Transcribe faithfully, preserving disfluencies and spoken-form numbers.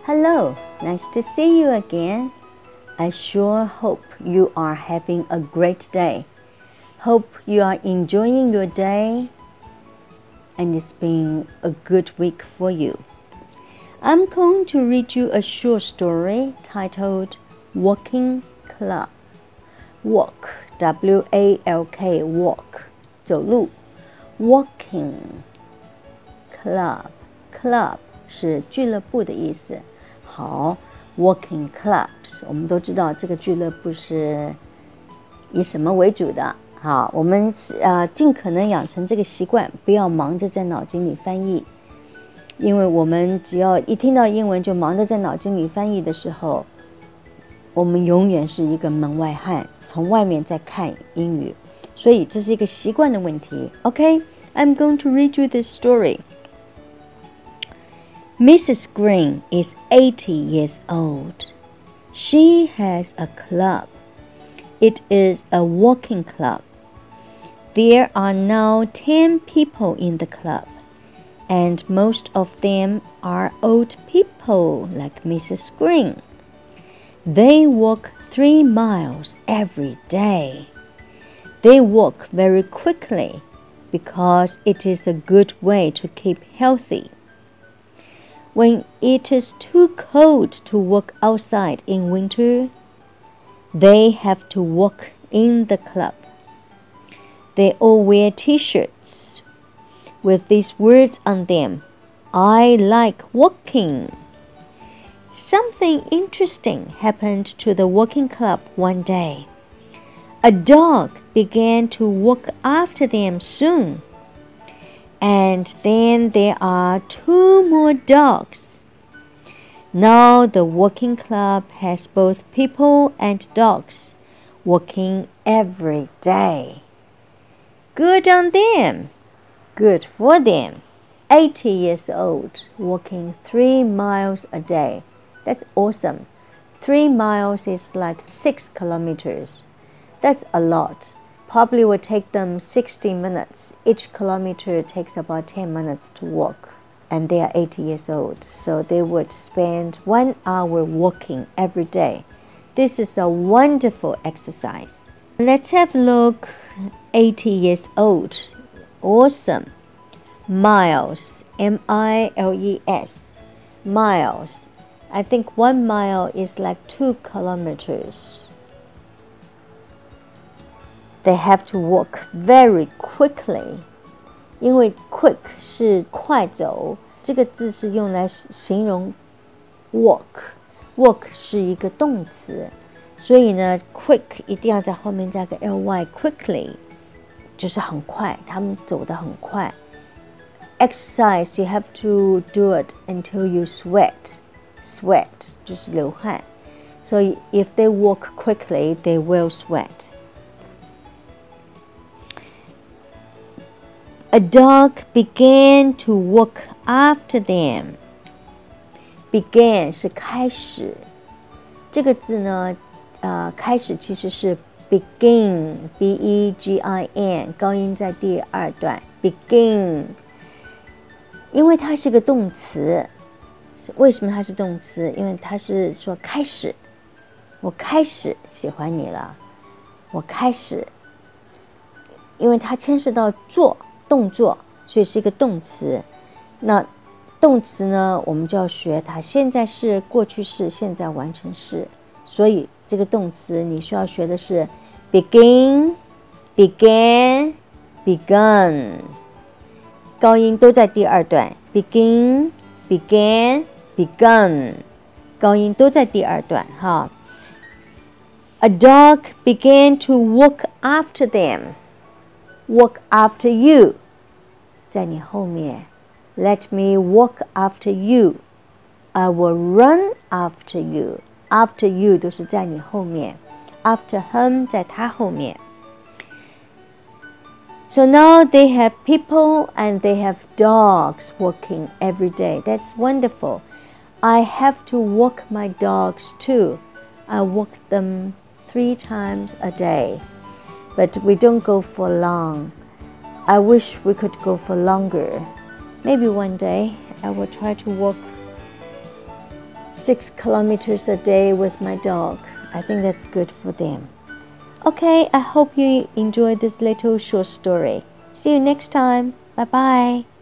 Hello, nice to see you again. I sure hope you are having a great day. Hope you are enjoying your day and it's been a good week for you. I'm going to read you a short story titled Walking Club. Walk, W A L K, walk, 走路 Walking Club, club 是俱乐部的意思。好 Walking Clubs 我们都知道这个俱乐部是以什么为主的。好，我们呃尽可能养成这个习惯，不要忙着在脑筋里翻译，因为我们只要一听到英文就忙着在脑筋里翻译的时候，我们永远是一个门外汉，从外面在看英语，所以这是一个习惯的问题。 OK, I'm going to read you this story.Missus Green is eighty years old. She has a club. It is a walking club. There are now ten people in the club, and most of them are old people like Missus Green. They walk three miles every day. They walk very quickly because it is a good way to keep healthy.When it is too cold to walk outside in winter, they have to walk in the club. They all wear t-shirts with these words on them. I like walking. Something interesting happened to the walking club one day. A dog began to walk after them soon.And then there are two more dogs. Now the walking club has both people and dogs walking every day. Good on them. Good for them. eighty years old, walking three miles a day. That's awesome. Three miles is like six kilometers. That's a lot.Probably will take them sixty minutes. Each kilometer takes about ten minutes to walk. And they are eighty years old. So they would spend one hour walking every day. This is a wonderful exercise. Let's have a look. eighty years old. Awesome. Miles. M I L E S. Miles. I think one mile is like two kilometers.They have to walk very quickly. 因为 quick 是快走，这个字是用来形容 walk. Walk 是一个动词，所以呢 quick 一定要在后面加个 ly, quickly 就是很快，他们走得很快。Exercise, you have to do it until you sweat. Sweat 就是流汗。So if they walk quickly, they will sweat.A dog began to walk after them. Began 是开始，这个字呢，呃，开始其实是 begin, B E G I N, 高音在第二段 begin. 因为它是个动词，为什么它是动词？因为它是说开始，我开始喜欢你了，我开始，因为它牵涉到做。动作，所以是一个动词。那动词呢，我们就要学它现在式、过去式、现在完成式。所以这个动词你需要学的是 begin, began, begun。高音都在第二段 begin, began, begun。高音都在第二段哈。A dog began to walk after them. Walk after you. 在你后面 Let me walk after you. I will run after you. After you 都是在你后面 After him 在他后面 So now they have people and they have dogs walking every day. That's wonderful. I have to walk my dogs too. I walk them three times a day. But we don't go for long. I wish we could go for longer. Maybe one day I will try to walk six kilometers a day with my dog. I think that's good for them. Okay, I hope you enjoyed this little short story. See you next time. Bye bye.